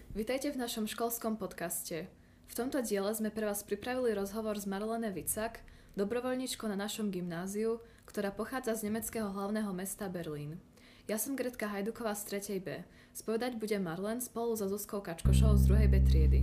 Vitajte v našom školskom podcaste. V tomto diele sme pre vás pripravili rozhovor s Marlene Vicak, dobrovoľníčkou na našom gymnáziu, ktorá pochádza z nemeckého hlavného mesta Berlín. Ja som Gretka Hajduková z 3. B. Spovedať bude Marlen spolu so Zuzkou Kačkošou z 2. B triedy.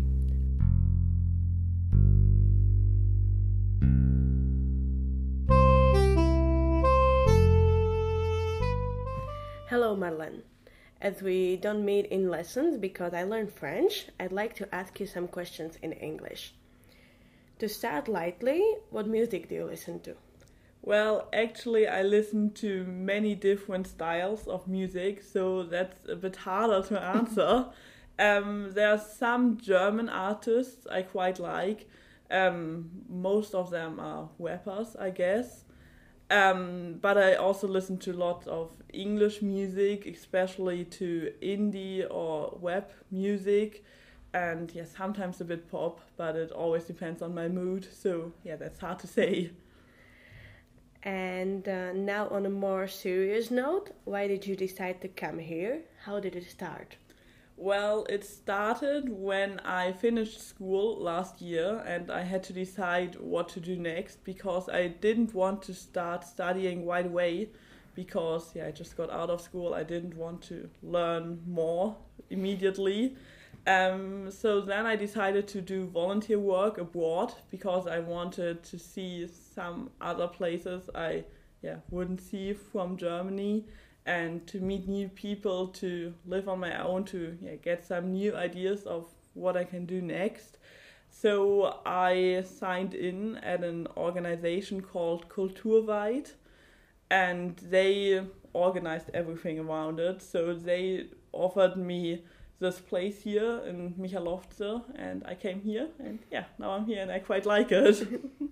Hello, Marlene. As we don't meet in lessons because I learned French, I'd like to ask you some questions in English. To start lightly, what music do you listen to? Well, actually, I listen to many different styles of music, so that's a bit harder to answer. There are some German artists I quite like. Most of them are rappers, I guess. But I also listen to lots of English music, especially to indie or rap music, and yeah, sometimes a bit pop, but it always depends on my mood, so yeah, that's hard to say. And now on a more serious note, why did you decide to come here? How did it start? Well, it started when I finished school last year and I had to decide what to do next because I didn't want to start studying right away because I just got out of school. I didn't want to learn more immediately. So then I decided to do volunteer work abroad because I wanted to see some other places I wouldn't see from Germany, and to meet new people, to live on my own, to get some new ideas of what I can do next. So I signed in at an organization called Kulturweit, and they organized everything around it. So they offered me this place here in Michalovce, and I came here, and now I'm here and I quite like it.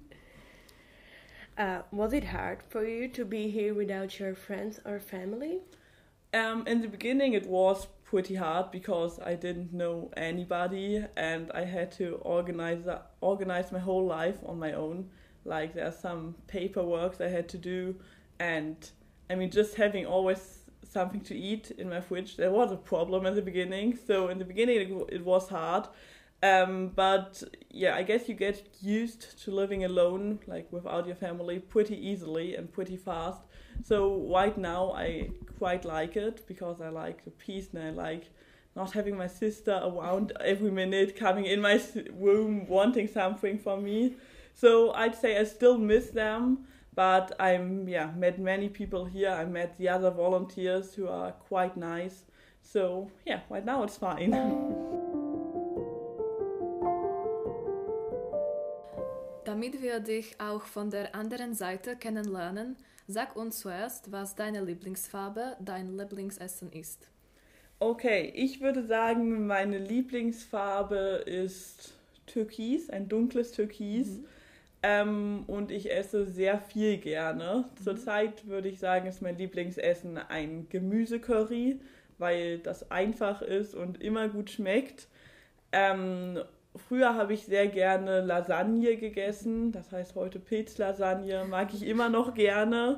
Was it hard for you to be here without your friends or family? In the beginning it was pretty hard because I didn't know anybody and I had to organize my whole life on my own. Like there's some paperwork I had to do, and I mean just having always something to eat in my fridge, that was a problem in the beginning. So in the beginning it was hard. But I guess you get used to living alone, like without your family, pretty easily and pretty fast. So right now I quite like it because I like the peace and I like not having my sister around every minute coming in my room wanting something from me. So I'd say I still miss them, but I'm met many people here. I met the other volunteers who are quite nice. So right now it's fine. Damit wir dich auch von der anderen Seite kennenlernen, sag uns zuerst, was deine Lieblingsfarbe, dein Lieblingsessen ist. Okay, ich würde sagen, meine Lieblingsfarbe ist Türkis, ein dunkles Türkis. Und ich esse sehr viel gerne. Zurzeit würde ich sagen, ist mein Lieblingsessen ein Gemüsecurry, weil das einfach ist und immer gut schmeckt. Früher habe ich sehr gerne Lasagne gegessen, das heißt heute Pilzlasagne, mag ich immer noch gerne.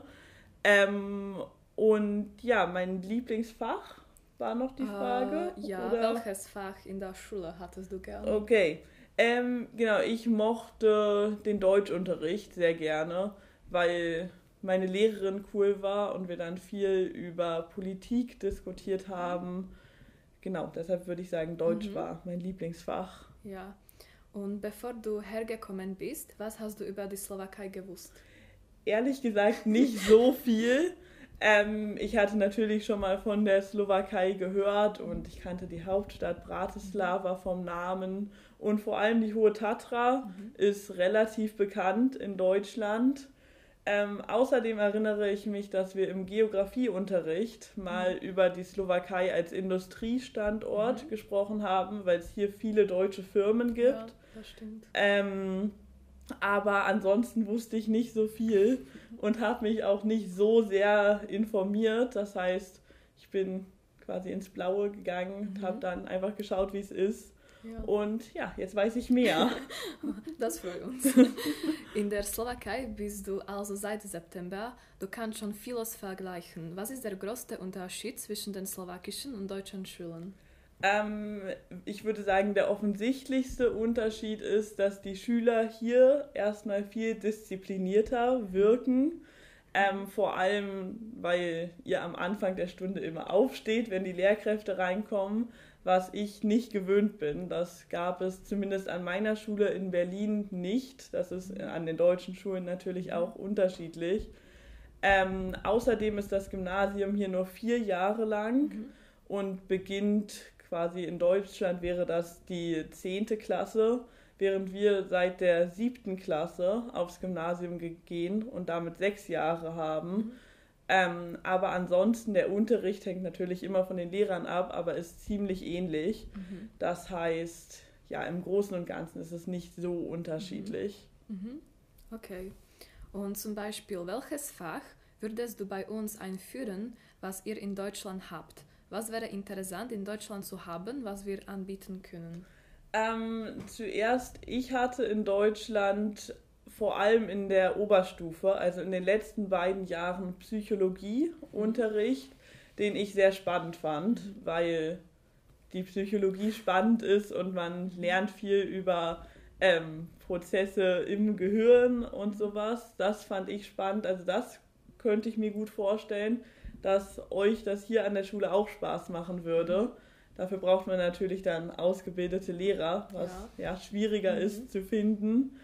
Und mein Lieblingsfach war noch die Frage. Welches Fach in der Schule hattest du gerne? Okay, ich mochte den Deutschunterricht sehr gerne, weil meine Lehrerin cool war und wir dann viel über Politik diskutiert haben. Genau, deshalb würde ich sagen, Deutsch war mein Lieblingsfach. Ja, und bevor du hergekommen bist, was hast du über die Slowakei gewusst? Ehrlich gesagt nicht so viel. Ich hatte natürlich schon mal von der Slowakei gehört und ich kannte die Hauptstadt Bratislava vom Namen und vor allem die Hohe Tatra ist relativ bekannt in Deutschland. Außerdem erinnere ich mich, dass wir im Geografieunterricht mal über die Slowakei als Industriestandort gesprochen haben, weil es hier viele deutsche Firmen gibt. Ja, das stimmt. Aber ansonsten wusste ich nicht so viel und habe mich auch nicht so sehr informiert. Das heißt, ich bin quasi ins Blaue gegangen und habe dann einfach geschaut, wie es ist. Ja. Und jetzt weiß ich mehr. Das freut uns. In der Slowakei bist du also seit September. Du kannst schon vieles vergleichen. Was ist der größte Unterschied zwischen den slowakischen und deutschen Schulen? Ich würde sagen, der offensichtlichste Unterschied ist, dass die Schüler hier erstmal viel disziplinierter wirken. Vor allem, weil ihr am Anfang der Stunde immer aufsteht, wenn die Lehrkräfte reinkommen, was ich nicht gewöhnt bin. Das gab es zumindest an meiner Schule in Berlin nicht. Das ist an den deutschen Schulen natürlich auch unterschiedlich. Außerdem ist das Gymnasium hier nur 4 Jahre lang und beginnt quasi in Deutschland wäre das die 10. Klasse, während wir seit der 7. Klasse aufs Gymnasium gehen und damit 6 Jahre haben. Aber ansonsten, der Unterricht hängt natürlich immer von den Lehrern ab, aber ist ziemlich ähnlich. Das heißt, ja, im Großen und Ganzen ist es nicht so unterschiedlich. Okay. Und zum Beispiel, welches Fach würdest du bei uns einführen, was ihr in Deutschland habt? Was wäre interessant in Deutschland zu haben, was wir anbieten können? Zuerst, ich hatte in Deutschland vor allem in der Oberstufe, also in den letzten 2 Jahren Psychologieunterricht, den ich sehr spannend fand, weil die Psychologie spannend ist und man lernt viel über Prozesse im Gehirn und sowas. Das fand ich spannend, also das könnte ich mir gut vorstellen, dass euch das hier an der Schule auch Spaß machen würde. Dafür braucht man natürlich dann ausgebildete Lehrer, was ja schwieriger ist zu finden.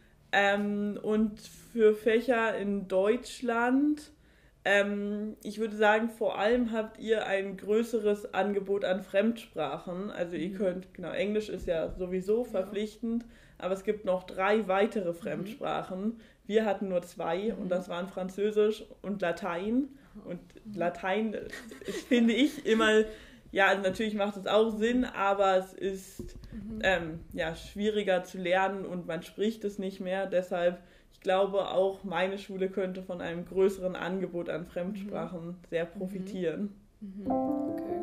Und für Fächer in Deutschland, ich würde sagen, vor allem habt ihr ein größeres Angebot an Fremdsprachen. Also ihr könnt, genau, Englisch ist ja sowieso verpflichtend, aber es gibt noch 3 weitere Fremdsprachen. Wir hatten nur 2 und das waren Französisch und Latein. Und Latein finde ich immer, ja, also natürlich macht es auch Sinn, aber es ist schwieriger zu lernen und man spricht es nicht mehr. Deshalb, ich glaube, auch meine Schule könnte von einem größeren Angebot an Fremdsprachen sehr profitieren. Okay.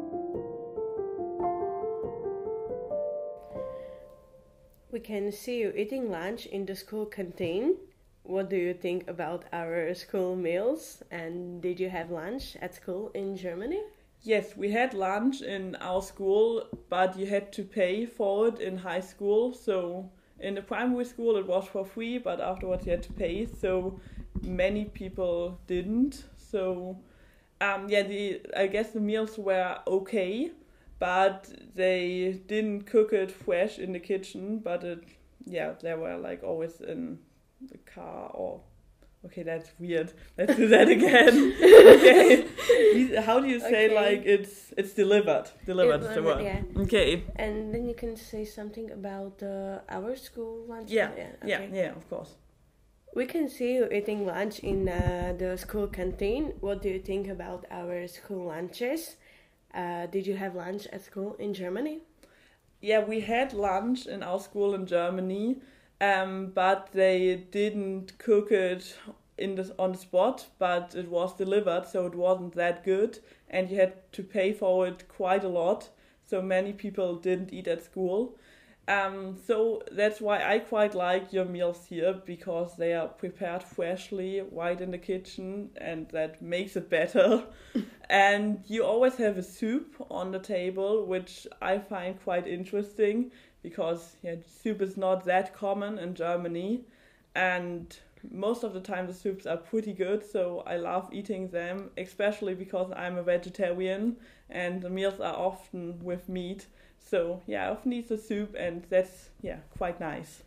We can see you eating lunch in the school canteen. What do you think about our school meals? And did you have lunch at school in Germany? Yes, we had lunch in our school, but you had to pay for it in high school. So in the primary school it was for free, but afterwards you had to pay. So many people didn't. So I guess the meals were okay, but they didn't cook it fresh in the kitchen. But they were like always in the car or... Okay, that's weird. Let's do that again. Okay. How do you say like it's delivered? Delivered is the word. Yeah. Okay. And then you can say something about our school lunch. Yeah. Okay. Yeah, of course. We can see you eating lunch in the school canteen. What do you think about our school lunches? Did you have lunch at school in Germany? Yeah, we had lunch in our school in Germany. But they didn't cook it on the spot, but it was delivered, so it wasn't that good, and you had to pay for it quite a lot, so many people didn't eat at school. So that's why I quite like your meals here, because they are prepared freshly, right in the kitchen, and that makes it better. And you always have a soup on the table, which I find quite interesting, because soup is not that common in Germany, and most of the time the soups are pretty good, so I love eating them, especially because I'm a vegetarian and the meals are often with meat. So I often eat the soup, and that's quite nice.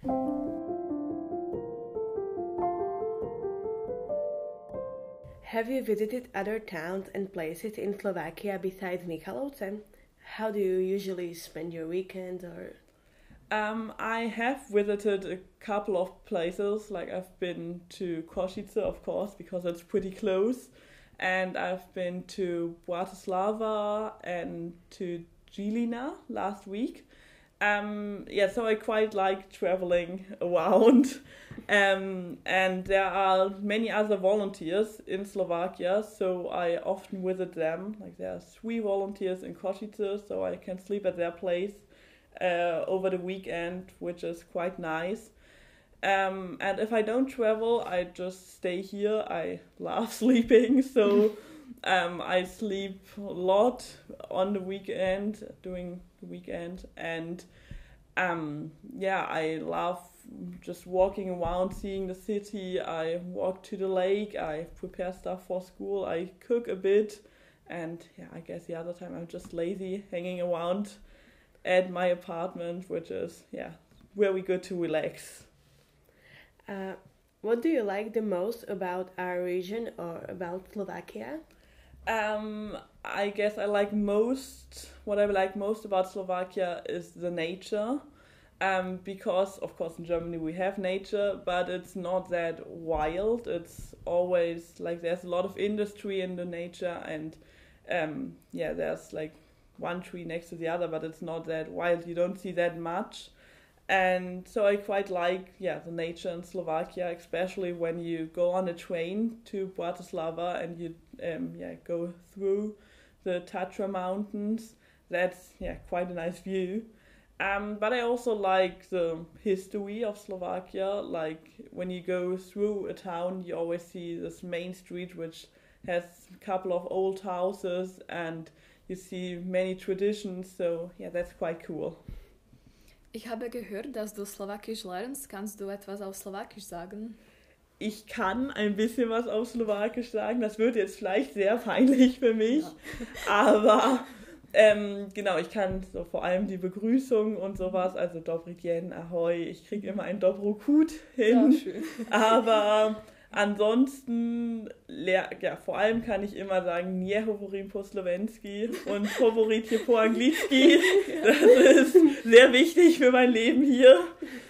Have you visited other towns and places in Slovakia besides Michalovce? How do you usually spend your weekends? Or I have visited a couple of places, like I've been to Košice, of course, because it's pretty close, and I've been to Bratislava and to Žilina last week. So I quite like traveling around, and there are many other volunteers in Slovakia, so I often visit them. Like there are 3 volunteers in Košice, so I can sleep at their place over the weekend, which is quite nice. And if I don't travel, I just stay here. I love sleeping, so I sleep a lot on the weekend, during the weekend, and I love just walking around, seeing the city. I walk to the lake, I prepare stuff for school, I cook a bit, and I guess the other time I'm just lazy, hanging around at my apartment, which is very good to relax. What do you like the most about our region or about Slovakia? I guess what I like most about Slovakia is the nature. Because, of course, in Germany we have nature, but it's not that wild. It's always like there's a lot of industry in the nature, and there's like one tree next to the other, but it's not that wild. You don't see that much. And so I quite like the nature in Slovakia, especially when you go on a train to Bratislava and you go through the Tatra Mountains. That's quite a nice view. But I also like the history of Slovakia. Like when you go through a town, you always see this main street which has a couple of old houses and you see many traditions. So that's quite cool. Ich habe gehört, dass du Slowakisch lernst. Kannst du etwas auf Slowakisch sagen? Ich kann ein bisschen was auf Slowakisch sagen. Das wird jetzt vielleicht sehr peinlich für mich. Ja. Aber ich kann so vor allem die Begrüßung und sowas, also Dobry dzień, Ahoj, ich kriege immer ein Dobrokut hin. Ja, schön. Aber ansonsten, vor allem kann ich immer sagen, nie hovorim po slovenski und hovoritje po anglicky. Das ist sehr wichtig für mein Leben hier.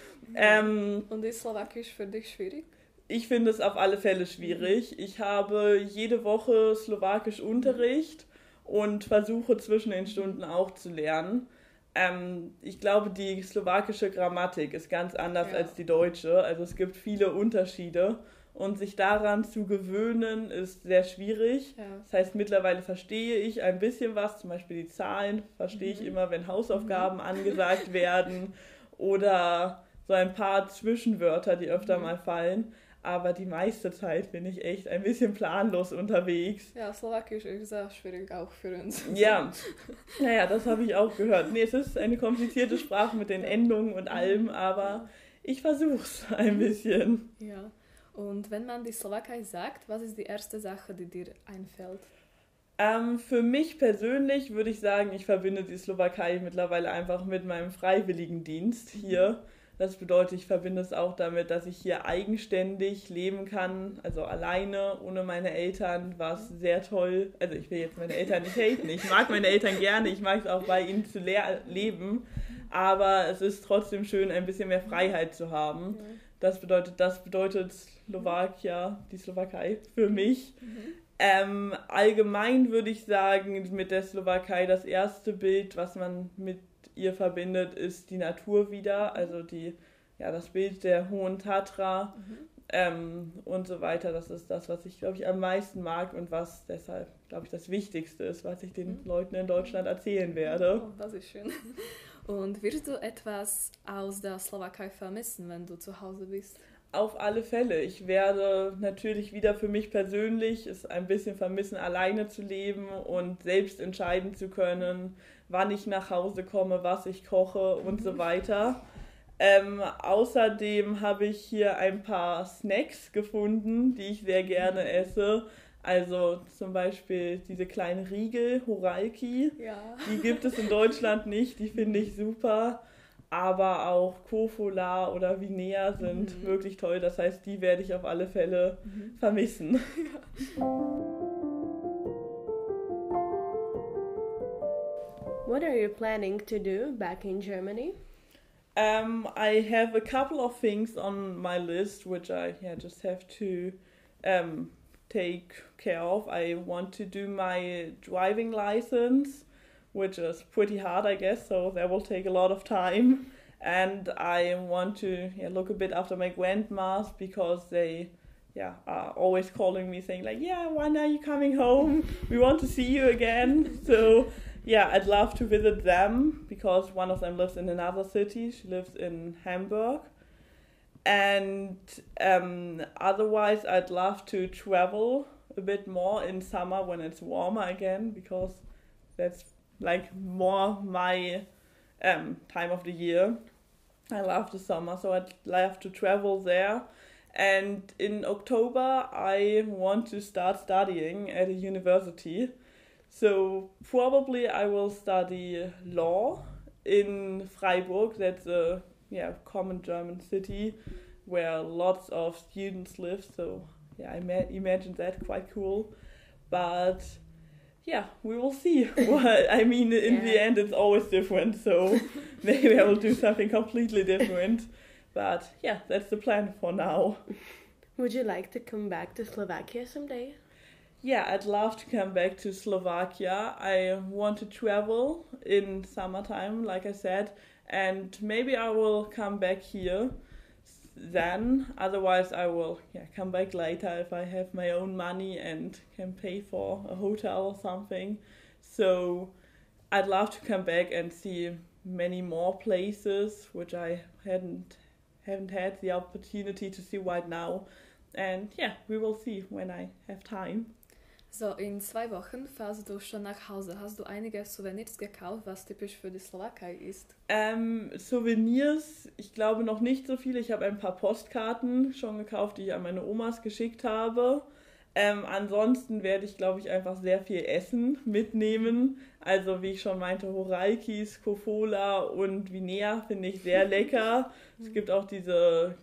Und ist Slowakisch für dich schwierig? Ich finde es auf alle Fälle schwierig. Ich habe jede Woche Slowakisch Unterricht und versuche zwischen den Stunden auch zu lernen. Ich glaube, die slowakische Grammatik ist ganz anders als die deutsche. Also es gibt viele Unterschiede und sich daran zu gewöhnen ist sehr schwierig. Ja. Das heißt, mittlerweile verstehe ich ein bisschen was, zum Beispiel die Zahlen verstehe ich immer, wenn Hausaufgaben angesagt werden oder so ein paar Zwischenwörter, die öfter mal fallen. Aber die meiste Zeit bin ich echt ein bisschen planlos unterwegs. Ja, Slowakisch ist sehr schwierig auch für uns. Ja, das habe ich auch gehört. Nee, es ist eine komplizierte Sprache mit den Endungen und allem, aber ich versuche es ein bisschen. Ja, und wenn man die Slowakei sagt, was ist die erste Sache, die dir einfällt? Für mich persönlich würde ich sagen, ich verbinde die Slowakei mittlerweile einfach mit meinem Freiwilligendienst hier. Das bedeutet, ich verbinde es auch damit, dass ich hier eigenständig leben kann, also alleine, ohne meine Eltern, was sehr toll. Also ich will jetzt meine Eltern nicht haten, ich mag meine Eltern gerne, ich mag es auch bei ihnen zu leben, aber es ist trotzdem schön, ein bisschen mehr Freiheit zu haben. Das bedeutet die Slowakei für mich. Allgemein würde ich sagen, mit der Slowakei das erste Bild, was man mit ihr verbindet, ist die Natur wieder, also das Bild der Hohen Tatra und so weiter. Das ist das, was ich, glaube ich, am meisten mag und was deshalb, glaube ich, das Wichtigste ist, was ich den Leuten in Deutschland erzählen werde. Oh, das ist schön. Und wirst du etwas aus der Slowakei vermissen, wenn du zu Hause bist? Auf alle Fälle. Ich werde natürlich wieder für mich persönlich es ein bisschen vermissen, alleine zu leben und selbst entscheiden zu können, wann ich nach Hause komme, was ich koche und so weiter. Außerdem habe ich hier ein paar Snacks gefunden, die ich sehr gerne esse. Also zum Beispiel diese kleinen Riegel, Horalki. Ja. Die gibt es in Deutschland nicht, die finde ich super. Aber auch Kofola oder Vinea sind wirklich toll. Das heißt, die werde ich auf alle Fälle vermissen. What are you planning to do back in Germany? I have a couple of things on my list which I just have to take care of. I want to do my driving license, which is pretty hard, I guess, so that will take a lot of time. And I want to look a bit after my grandmas because they are always calling me saying like, when are you coming home? We want to see you again. So I'd love to visit them because one of them lives in another city. She lives in Hamburg. And otherwise I'd love to travel a bit more in summer when it's warmer again, because that's like more my time of the year. I love the summer, so I'd love to travel there. And in October, I want to start studying at a university. So probably I will study law in Freiburg. That's a common German city where lots of students live. So I imagine that quite cool. But yeah, we will see. Well, I mean, in the end, it's always different. So maybe I will do something completely different. But yeah, that's the plan for now. Would you like to come back to Slovakia someday? Yeah, I'd love to come back to Slovakia. I want to travel in summertime, like I said, and maybe I will come back here then. Otherwise, I will come back later if I have my own money and can pay for a hotel or something. So I'd love to come back and see many more places, which I haven't had the opportunity to see right now. And we will see when I have time. So, in 2 Wochen fährst du schon nach Hause. Hast du einige Souvenirs gekauft, was typisch für die Slowakei ist? Souvenirs, ich glaube noch nicht so viele. Ich habe ein paar Postkarten schon gekauft, die ich an meine Omas geschickt habe. Ansonsten werde ich, glaube ich, einfach sehr viel Essen mitnehmen. Also wie ich schon meinte, Horaikis, Kofola und Vinea finde ich sehr lecker. Es gibt auch diese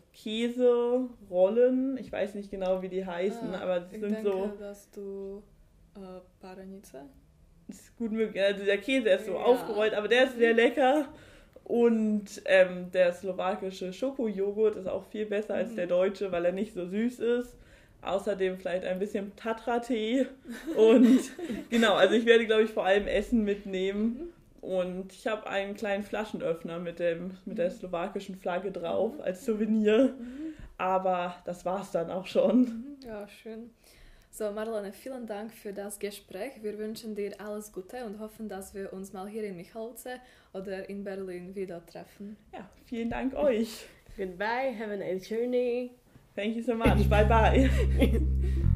Käserollen. Ich weiß nicht genau, wie die heißen, aber die sind so... Ich denke, dass du Parenice? Das ist gut möglich. Also der Käse ist so aufgerollt, aber der ist sehr lecker. Und der slowakische Schokojoghurt ist auch viel besser als der deutsche, weil er nicht so süß ist. Außerdem vielleicht ein bisschen Tatra-Tee. Und genau, also ich werde, glaube ich, vor allem Essen mitnehmen. Und ich habe einen kleinen Flaschenöffner mit der slowakischen Flagge drauf als Souvenir. Aber das war's dann auch schon. Ja, schön. So, Marlene, vielen Dank für das Gespräch. Wir wünschen dir alles Gute und hoffen, dass wir uns mal hier in Michalovce oder in Berlin wieder treffen. Ja, vielen Dank euch. Goodbye, have a nice journey. Thank you so much. Bye bye.